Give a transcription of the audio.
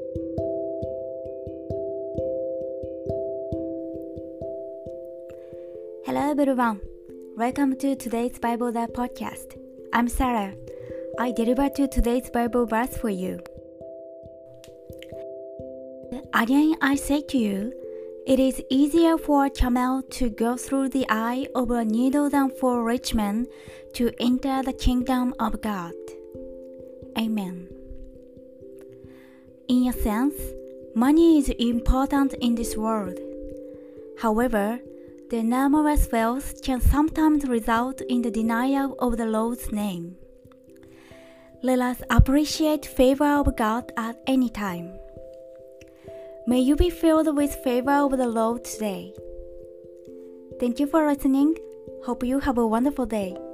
Hello everyone, welcome to today's Bible Lab podcast. I'm Sarah. I deliver to today's Bible verse for you. Again I say to you, it is easier for a camel to go through the eye of a needle than for a rich man to enter the kingdom of God. Amen. In a sense, money is important in this world. However, the enormous wealth can sometimes result in the denial of the Lord's name. Let us appreciate favor of God at any time. May you be filled with favor of the Lord today. Thank you for listening. Hope you have a wonderful day.